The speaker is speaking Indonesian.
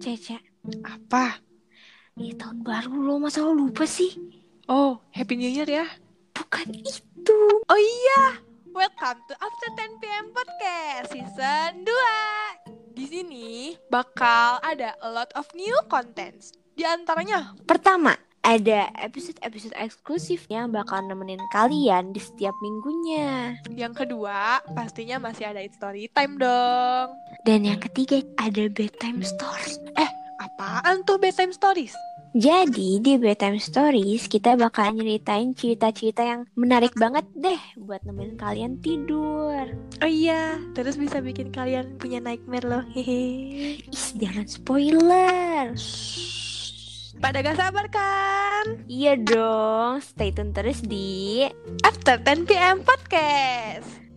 Cece, Apa? ini tahun baru lo, masa lo lupa sih? Oh, Happy New Year ya. Bukan itu. Oh iya, welcome to After 10 PM Podcast Season 2. Di sini bakal ada a lot of new contents. Di antaranya, Pertama, ada episode-episode eksklusif yang bakal nemenin kalian di setiap minggunya. yang kedua, pastinya masih ada It's Story Time dong. Dan yang ketiga, ada bedtime story. Apaan tuh bedtime stories? Jadi di bedtime stories kita bakal nyeritain cerita-cerita yang menarik banget deh buat nemenin kalian tidur. Oh iya, terus bisa bikin kalian punya nightmare loh. Hehe. Ih, jangan spoiler. Pada gak sabar kan? Iya dong, stay tune terus di After 10 PM Podcast.